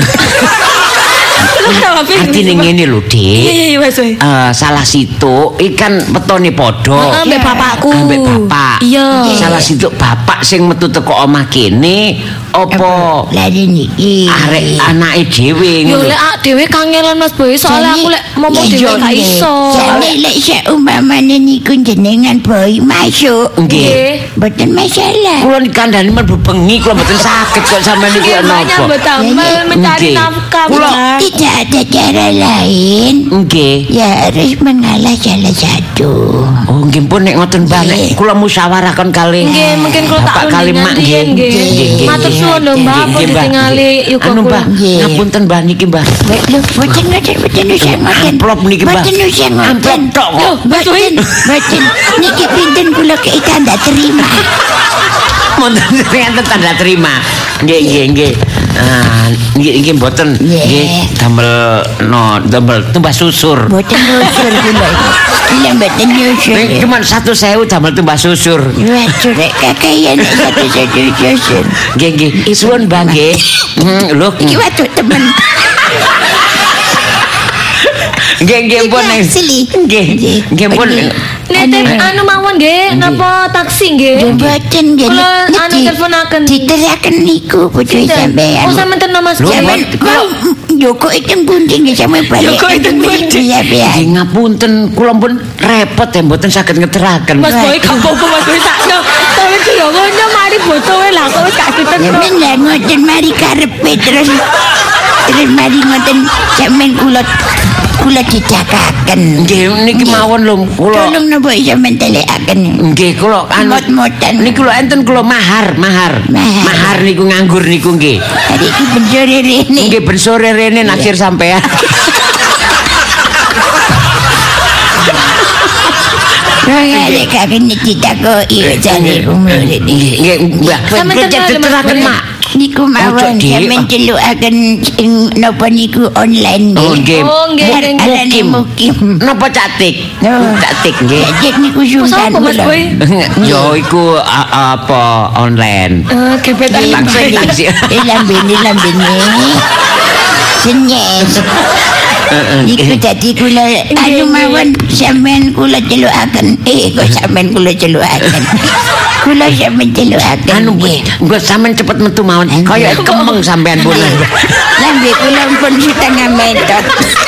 Artine ngene lho, Iya Dik. iya iya wes wes. Eh, salah situ ikan petone padha. Ambek bapakku. Ambek bapak. Iya. Salah situ bapak sing metu teko omah kene apa lari niki. arek anake dhewe Yo ngono. lek ak dhewe kangelan Mas Boy, soalnya aku lek ngomong dhewe gak iso. Jane lek seumpamane niku jenengan boy masuk. Nggih. Mboten masalah. Kula dikandani mlebu bengi kula mboten saged kok sampean niku ya Banyak napa. betambal mencari Nggih. nafkah. Kula- Benar. Tidak ada cara lain. Nggih. Ya harus mengalah salah satu. Oh nggih pun nek ngoten Mbah nek Nggih. kula musyawarahkan kali. Nggih, mungkin kula tak Bapak kali unding mak nanti nggih. nggih. Nggih, Matur nggih. suwun lho Mbah, Nggih, apa nggih, Mbah. ditingali yuk Anu Mbah, Nggih. ngapunten Mbah niki Mbah. Lho, boten ngoten, boten usah ngoten. Amplop niki, Mbah. Boten usah ngoten. Amplop tok kok. Loh, boten, boten. Niki pinten kula kei tanda terima. Monten ternyata tanda terima. Nggih nggih nggih. Ah, nggih nggih mboten Nggih. nggih damel no damel tumbas susur. Boten nyusur kula. Kula boten nyusur. Ning cuman satu sewu damel tumbas susur. Waduh, rek kakayan satu-satu nyusur. Nggih nggih. Suwun Mbah nggih. Hmm, lho. Iki waduh temen. Nggih nggih pun ning. Asli. Nggih. Nggih pun. Nitip anu mawon nggih, napa taksi nggih? Boten nggih. Kula anu teleponaken. Diteraken niku bojo sampean. Oh sampean ten Mas Lho, Boy. men, Mau Joko itu bunting nggih sampe balik. Joko itu bunting. Ya, Nggih ngapunten kula pun repot ya mboten saged ngeteraken. Mas Boy gak apa-apa Mas Boy sakno. Tapi ku yo ngono mari botoe lah kok wis gak Ya ditetro. men lah ngoten mari karepe terus terus mari ngoten sampean kula kula dicakaken. Nggih niki mawon lho kula. Tolong napa sampean telekaken. Nggih kula anu Mot-motan. niku lho enten kula mahar, mahar. Mahar. Mahar niku nganggur niku nggih. Hari iki benjore rene. Nggih ben sore rene naksir sampean. Rene kakek ditakoki jane umur iki. Nggih nggih Mbah. Sampeyan Kula kenal, Mas diteraken Boy? mak. Niku mawon Ojo, Dik. sampean celukaken ing napa niku online Oh nggih. nggih. Oh, nggih, nggih, nggih. Arane mukim. Napa catik? Oh. Catik nggih. Jadi niku Mas sungkan apa Mas kula. Boy? Yo iku a- apa online. Eh gebetan Taksi taksi. Eh lambene lambene. Senyes. Iku dadi kula anu mawon sampean kula celukaken. Eh kok sampean kula celukaken. Kula sampean celukaken. Anu nggo sampean cepet metu mawon. Kaya kemeng sampean pun. Lambe kula pun setengah meter.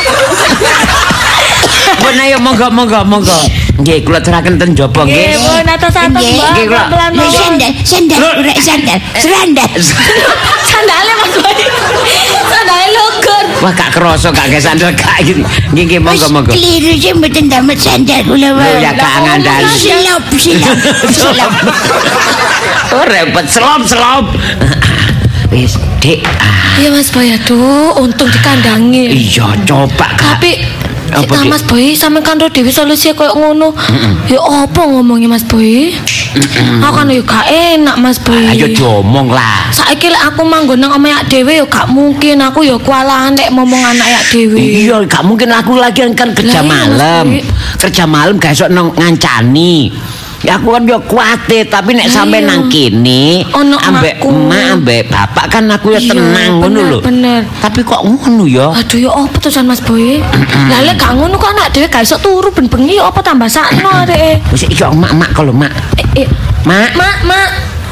Pun ayo monggo monggo monggo. Nggih kula teraken ten jaba nggih. Nggih, pun atas-atas Nggih, Mbak. nggih, kula. Pelan Lho mawon. sandal, sandal, ora sandal, serandal. Sandale Mas Boy. Sandale lugur. Wah gak kerasa gak ge sandal gak iki. Nggih nggih monggo monggo. Keliru sih mboten damet sandal kula wae. Lho ya gak ngandani. Silap, silap, silap. Oh repot selop-selop. Wis, Dik. Ah, Iya Mas Boy, aduh, untung dikandangi. iya coba Kak. Tapi Apa, Cita Dik? Mas Boy sampe kandho dhewe solusi koyo ngono. Ya apa ngomongnya Mas Boy? Aku kan yo gak enak Mas Boy. Ayo diomong lah. Saiki lek aku manggon nang omah yak dhewe yo gak mungkin aku yo kualahan lek ngomong anak yak dhewe. Iya, gak mungkin aku lagi kan kerja Lah, iya, malam. Mas, Dik. Kerja malam gak esok nang ngancani. Ya aku kan yo kuatir tapi nek sampe Iya. nang kene Ono ambek emakku. emak ambek bapak kan aku ya Iya, tenang ngono bener, lho. bener. Tapi kok ngono ya? Aduh ya apa tulisan Mas Boy? Lah lek gak ngono kok anak dhewe gak iso turu ben bengi ya apa tambah sakno areke. Wis iki emak-emak kalau mak. Eh, eh, Mak, Mak, Mak.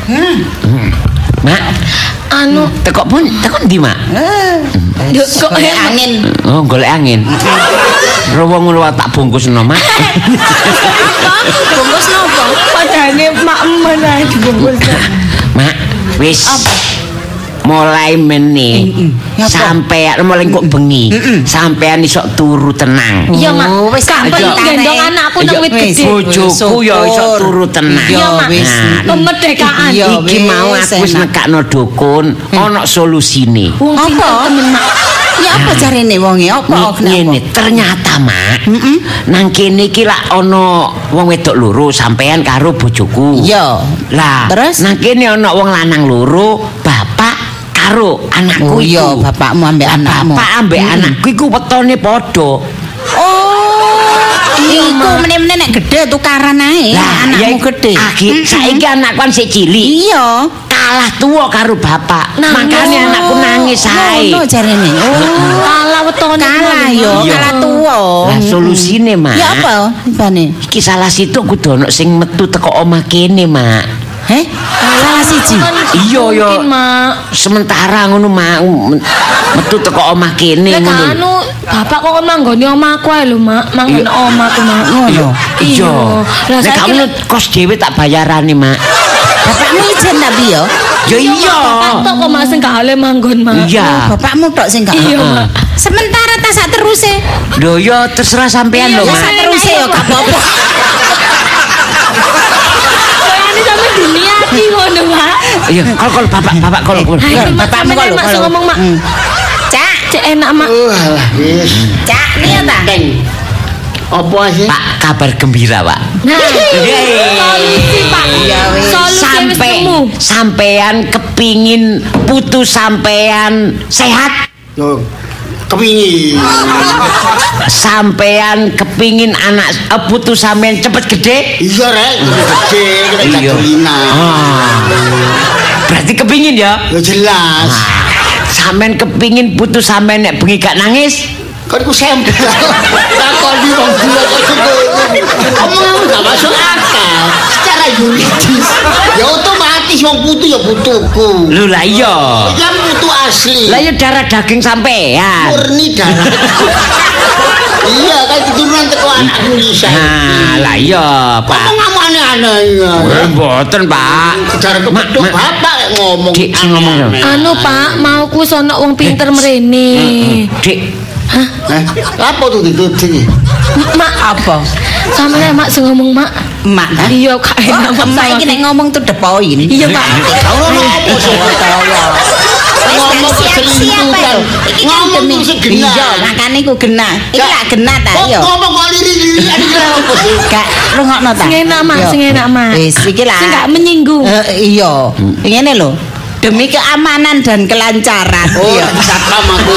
mak. Anu, Tekok pun, tekok ndi, Mak? yo kok Golek enak. angin. Oh, golek angin. Rowo ngono wae tak bungkusno, Mak. Bungkus nopo? Padane mak men ae dibungkus. Mak, wis. Mulai meneh sampai mulai kok bengi sampean iso turu tenang. Iya, Mak. Oh, wis Gak tak perlu tarik. gendong anakku nang wit Wis, gede. Bojoku ya iso turu tenang. Iya, Mak. wis. Nah, Kemerdekaan. Iya. iki wis, mau aku wis enak. nekakno dukun ana solusine. Wong pinter Apa? temen Mak. Ya apa jarene wonge? Apa Ngene kenapa? ternyata Mak. Nang kene iki lak ana wong wedok loro sampean karo bojoku. Iya. Lah, Terus? nang kene ana wong lanang loro, bapak karo anakku Oh iya, iku. bapakmu ambek Lah, anakmu. Bapak ambek anakku iku wetone padha. Oh, iku meneh-meneh nek gede tukaran ae. Anakmu ya, gede. Akhir saiki anakku kan sik cilik. Iya. Kalah tuwa karo bapak. Nangis. Makane anakku nangis ae. Ngono jarene. Oh, Kalah wetone. kalah yo, Iya. kalah tuwa. Lah solusine, Mak. Ya apa ibane? Iki salah situ kudu ono sing metu teko omah kene, Mak. Heh? Salah siji. Iya, ya. Mungkin, Mak. Sementara ngono Mak metu teko omah kene Lek ngono. anu bapak kok manggone omahku ae lho, Mak. Manggon omahku, Mak. Ngono. Iya. Lah Nek saiki kamu lek kos dhewe tak bayarane, Mak. Bapakmu ijen tapi yo. Ya iya. bapak tok kok Mak sing gak oleh manggon, Mak. Iya. Bapakmu tok sing gak. Iya, Heeh. Mak. Sementara tas sak teruse. Lho ya terserah sampean Iya, lho, Ya Mak. sak teruse yo gak apa-apa. Kayane sampe diniati ngono, Mak. Iya, kalau kalau bapak bapak kalau kalau. Ayo, Mak, Bapakmu sampeyan, kalau- Mak, sing kalau- ngomong, Mak. Cak, Cek enak, Mak. Uh, alah, wis. cak liya ta? Teng. Apa sih? Pak kabar gembira, Pak. Nah, Yeay. solusi, Pak. Iya, wis. Solusi wis Sampai nemu. sampean kepingin putu sampean sehat. Yo, kepingin. Sampean kepingin anak eh, putu sampean cepet gede. Iya rek, gede, kita Iya. jadulina. Ah. Berarti kepingin ya? Ya jelas. Sampean kepingin putu sampean nek bengi gak nangis? Kan ku sampel. Takon di wong dua kok gitu. Omonganmu gak masuk akal. Secara yuridis, ya otomatis wong putu ya putuku. Lho lah iya. Yang putu asli. Lah ya darah daging sampean. Murni darah. Iya, kan keturunan teko anakku Lisa. Nah, lah iya, Pak. Omonganmu aneh-aneh ya. Eh, mboten, Pak. Secara Mak, kepeduk mak. bapak ngomong. Dik, sing ngomong ya. aneh-aneh. Anu, Pak, mau ku sono wong pinter mrene. Dik, Eh, apa tuh ditutup? Mak, Apa? sampeyan Mak sing ngomong, Mak. Emak ta? Iya, gak enak Oh, emak iki nek ngomong tuh the point. Iya, Pak. Ngomong apa sih? Ngomong keselingkuhan. Iki kan Ngomong demi terus genah. iya, makane ku genah. Iki lak genah ta Kok yo. ngomong kok liri-lirian iki apa sih? Gak rungokno ta. Sing enak, Mak, Yo. sing enak, Mak. Wis iki lah. Sing gak menyinggung. Eh, iya. Ngene lho. Demi keamanan dan kelancaran. Oh, Iya. satpam aku.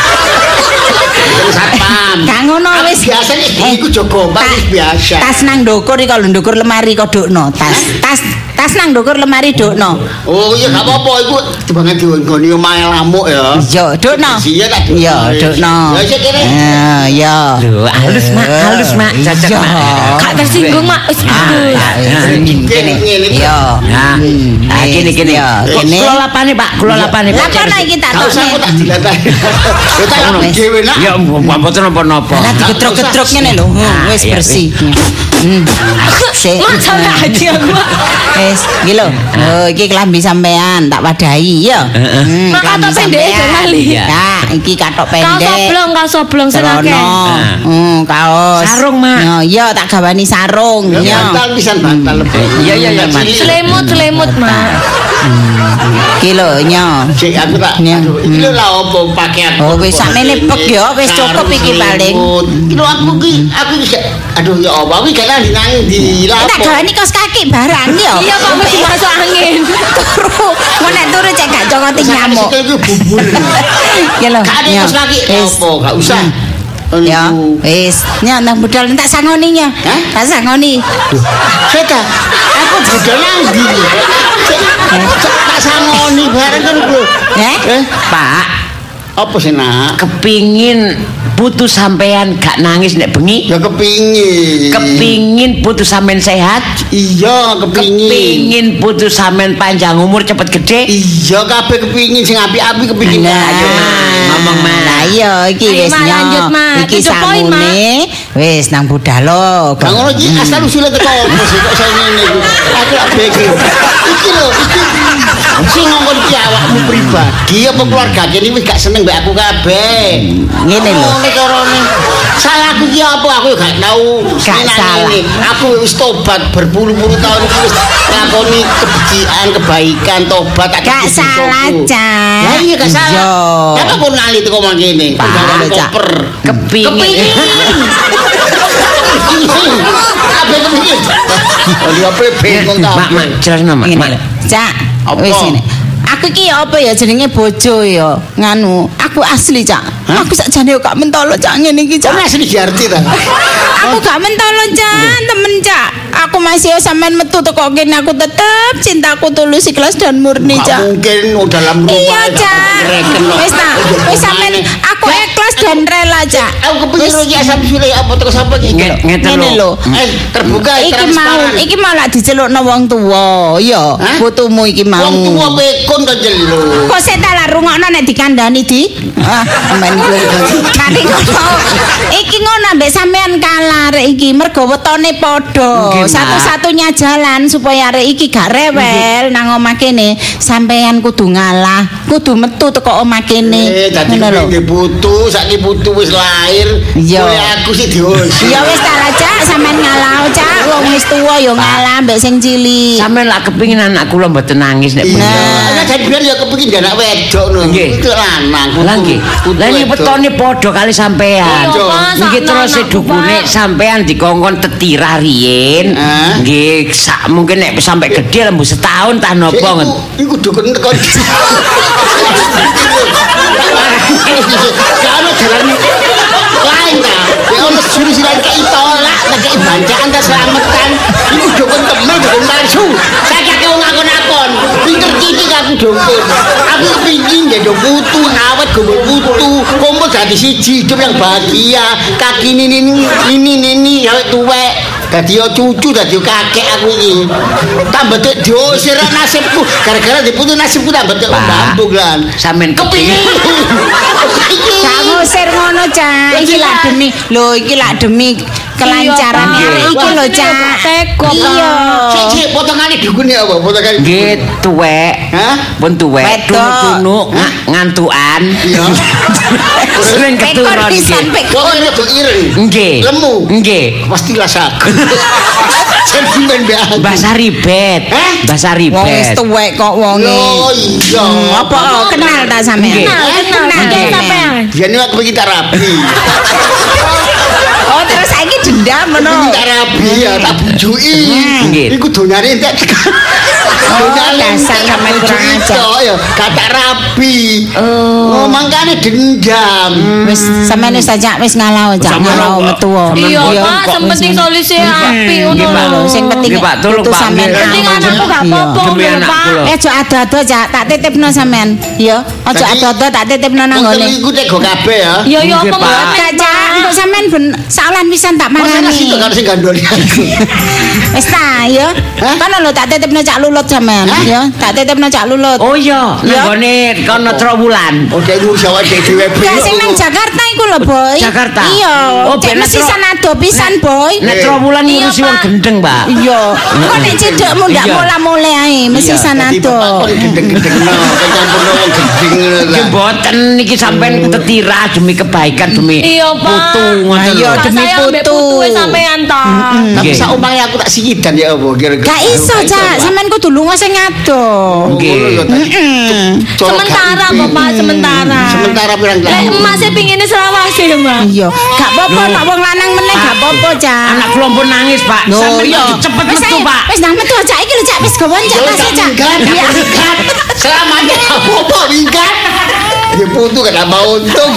Satpam. Gak ngono wis. Biasa nih, iku Joko Mbak Ta- wis biasa. Tas nang ndukur iki kalau ndukur lemari kodokno tas. Tas tas nang ndukur lemari dokno. Oh iya gak apa-apa iku dibangun digonggoni omahe lamuk ya. Iya, dokno. Iya tak dokno. Iya, dokno. Ya sik kene. Eh, iya. Lho, halus mak, halus mak, cocok Iya. mak. Kak tersinggung mak. Wis bagus. Kene. Iya. Nah, ah, gini gini. Iya, Kok kene. kula lapane Pak, kula lapane Pak. Lakono iki tak Gak usah aku tokne. tak dilatih. Ya tak aku dhewe nak. Ya mboten napa-napa. Lah digedrok-gedrok ngene lho. Hmm, Wis iya, bersih. Hmm. Sik. Mak sampe aja aku. Mak. Wis, iki lho. Oh, iki kelambi sampean tak wadahi ya. Hmm, Mak katok kelambi pendek sampean. kali. Nah, iki katok Kaos pendek. oblong, kaos oblong sing akeh. Celono. Hmm, kaos. Sarung, Mak. Ya, iya tak gawani sarung. Ya Ya. bantal pisan bantal lebih. Iya, iya, iya, Mas. Selimut, selimut mak. Iki lho, nya. Cek aku tak. Ya. Aduh, iki lho lah opo pakaian. Oh, wis sakmene pek ya, wis cukup iki paling. Iki lho aku ki, aku ki gak- aduh ya apa iki gak nang nang di Tak lapo. gawani kaos kaki barang ya. Iya kok mesti masuk angin. Turu, mau nek turu cek gak cokoti nyamuk. Itu bubur. Ya lho. Gak ada ya. kaos kaki. Wis. Apa gak usah. Ya, Aduh. wis. Nya nang budal tak sangoni nya. Hah? Tak sangoni. Seta, aku budal nang ndi? Cek tak sangoni bareng kan lho. Eh? Eh, Pak, apa sih nak? kepingin putu sampean gak nangis nek bengi. Ya kepingin. Kepingin putu sampean sehat. Iya, kepingin. Kepingin putu sampean panjang umur cepet gede. Iya, kabeh kepingin sing api-api kepingin. Nah, Ayo, Ma. Ngomong, Ma. Lah iya iki Ayo, wis Ma, nya. lanjut, Ma. Iki To the point, Ma. samune wis nang budal lo. Kang ngono iki asal usule teko opo sih kok saya ngene iki. Aku lak bege. Iki lho, iki sing ngomong iki awakmu pribadi apa keluarga kene wis gak seneng mbek aku kabeh. Ngene lho. Ngene carane. Salah aku iki apa? Aku gak tau Gak seneng salah. ini. Aku wis tobat berpuluh-puluh tahun iki wis ngakoni kebejian, kebaikan, tobat tak Gak kebutuh salah, dosaku. Cak. Lah iya gak salah. Iya. Kenapa kok nali teko mangkene? Pak, Gawe Cak. koper. Kepingin. Apa kepingin? Oh, dia apa bengong ta? Mak, mak, jelasno mak. Ngene Mak. lho. Cak, Apa? wis ngene. Aku iki apa ya jenenge bojo ya. Nganu, aku asli, Cak. Hah? Aku sakjane yo gak mentolo, Cak, ngene iki, Cak. Ora asli diarti ta? Aku gak mentolo, Cak, temen, Cak. Aku masih sampean metu teko kene aku tetep cintaku tulus ikhlas dan murni, Gak Cak. mungkin oh, dalam rumah. Iya, gak Cak. ngereken kok. Wis ta, wis sampean aku ikhlas dan rela, Cak. Aku kepikir iki asal usule apa terus apa iki? Nge- Ngeten Ngene lho. lho. Eh, terbuka Iki mau, transparan. iki mau lak dicelukno wong tuwa, iya. Hah? Putumu iki mau. Wong tuwa pekon kok jelo. Kok sik tak lah rungokno nek dikandani di. Ah, men iku. Nanti ngono. Iki ngono ambek sampean kalah rek iki mergo wetone padha. Nggih, Mak. Satu-satunya jalan supaya rek iki gak rewel nang omah kene, sampean kudu ngalah, kudu metu teko omah kene. Eh, dadi Ngono lho. kepingin putu, saiki putu wis lahir. Iya. Kowe aku sih diusi. Ya wis ta lah, Cak, sampean ngalah, Cak. Wong wis tuwa ya ngalah ambek sing cilik. Sampeyan lak kepingin anak kula mboten nangis nek bengi. Nah, ana jadi biar ya kepingin dia anak wedok no. Nggih. Itu lanang. putu. Lah nggih. Putu Lah iki wedok. wetone padha kali sampean. Iya, Pak, Nggih sakno terus anakku, sedukune Pak. sampean dikongkon tetira riyin. Hah? Nggih, sak mungkin nek sampai gede lembu setahun tah Sik, napa iku- ngoten. Iku dukun tekon. Kalau jalan lain ta. Ya ono jurus lain kei tolak, kei bancaan ta selametan. Iku dukun temen dukun palsu. Saiki aku ngakon-akon. Pinter titik aku dukun. Aku pingin ya putu awet gowo putu. Kumpul dadi siji hidup yang bahagia. Kaki ini ini ini ini awet tuwek. Dadi yo cucu, dadi yo kakek aku iki. Tambah tek diusir nasibku. Gara-gara diputu nasibku tambah tek bambung lan. Sampeyan kepingin. Gak ngusir ngono, Cak. Iki lak demi lho, iki lak demi kelancaran Iya, Pak. arek iki lho, Cak. Teko, Pak. Iya. Cek cek potongane dukune apa? Potongane. Nggih tuwek. Hah? Pun tuwek, Wedok. tunu-tunu nga- ngantukan. Iya. Sering Pekon keturun pisan, nggih. pekon. Wong rada ireng. Nggih. Lemu. Nggih. Pasti rasaku. Sentimen be aku. Bahasa ribet. Hah? Bahasa Wong wis ribet. tuwek kok wonge. Yo iya. Hmm, Apa kenal ta sampean? Nggih. Kenal, kenal, Kenal, kenal Nek. sampean. Biyen aku pengen terapi. Oh, terus saiki dendam ngono. Pengen terapi. rabi ya, tak bujuki. Nggih. Iku donyane entek. Donyane dasar sampean kurang ajar. Ya, kata rabi. Oh, mangkane dendam. Wis sampean wis ajak wis ngalau ajak Sampeyan ngalau kok- metu. Iya, Iya, Pak, kok sing wis penting ngono. solusi apik ngono Nggih, Pak. lho. Sing penting Nggih, Pak, tolong, putu Pak. sampean Nggih. Penting aman. anakku gak Iya. apa-apa Demi lho, anak Pak. kula. Eh, aja ado-ado aja, tak titipno sampean. Ya, aja Tadi- ado-ado tak titipno nang Wong ngene. telu iku tega kabeh ya. Yo yo Nggih, apa Pak. mboten, Kaca, untuk sampean ben salan pisan tak Masa marani. nasi itu karo sing gandoli aku. Wis ta, ya. Hah? Kono lho tak titipno Cak Lulut sampean, Hah? ya. Tak titipno Cak Lulut. Oh iya, Ya. nanggone kono Trowulan. Oh, dia ngurus awak dhewe dhewe. Gak sing nang Jakarta iku lho, Boy. Jakarta? Iya. Oh, Cek ben mesti Tro- sanado pisan, Boy. Nek Trowulan Iya, ngurusi wong Pak. gendeng, Pak. Iya. Kok nek cedekmu ndak Iya. mola-mole ae, mesti Iya, Dadi sanado. bapak kok gendeng-gendeng no, kecampurno wong gendeng ngono Nggih lah. mboten niki sampean tetira demi kebaikan demi Iya, Pak. putu ngoten Ayo, lho. Gak demi sayang mbek putu. putu wis sampean ta. Tapi Nggih. sak omahe aku tak sikidan ya apa kira-kira. Gak iso, Cak. Sampean kudu lunga sing ado. Nggih. Ngono ya tadi. Coro Sementara gak kok, Pak, impi. sementara. Sementara pirang Lek tahun. emak sih pingine selawase ya, Mbak. Iya, gak apa-apa Loh. nek wong lanang meneh gak apa-apa, Cak. Anak kula pun nangis, Pak. Loh, Sampeyan iya. kudu cepet Wis metu, ae, Pak. Wis nang metu Cak iki lho, Cak. Wis gawon Cak Yo, tas tak Cak. minggat, Iya. tak minggat. Selamanya apa minggat. Ya putu kan mau untung.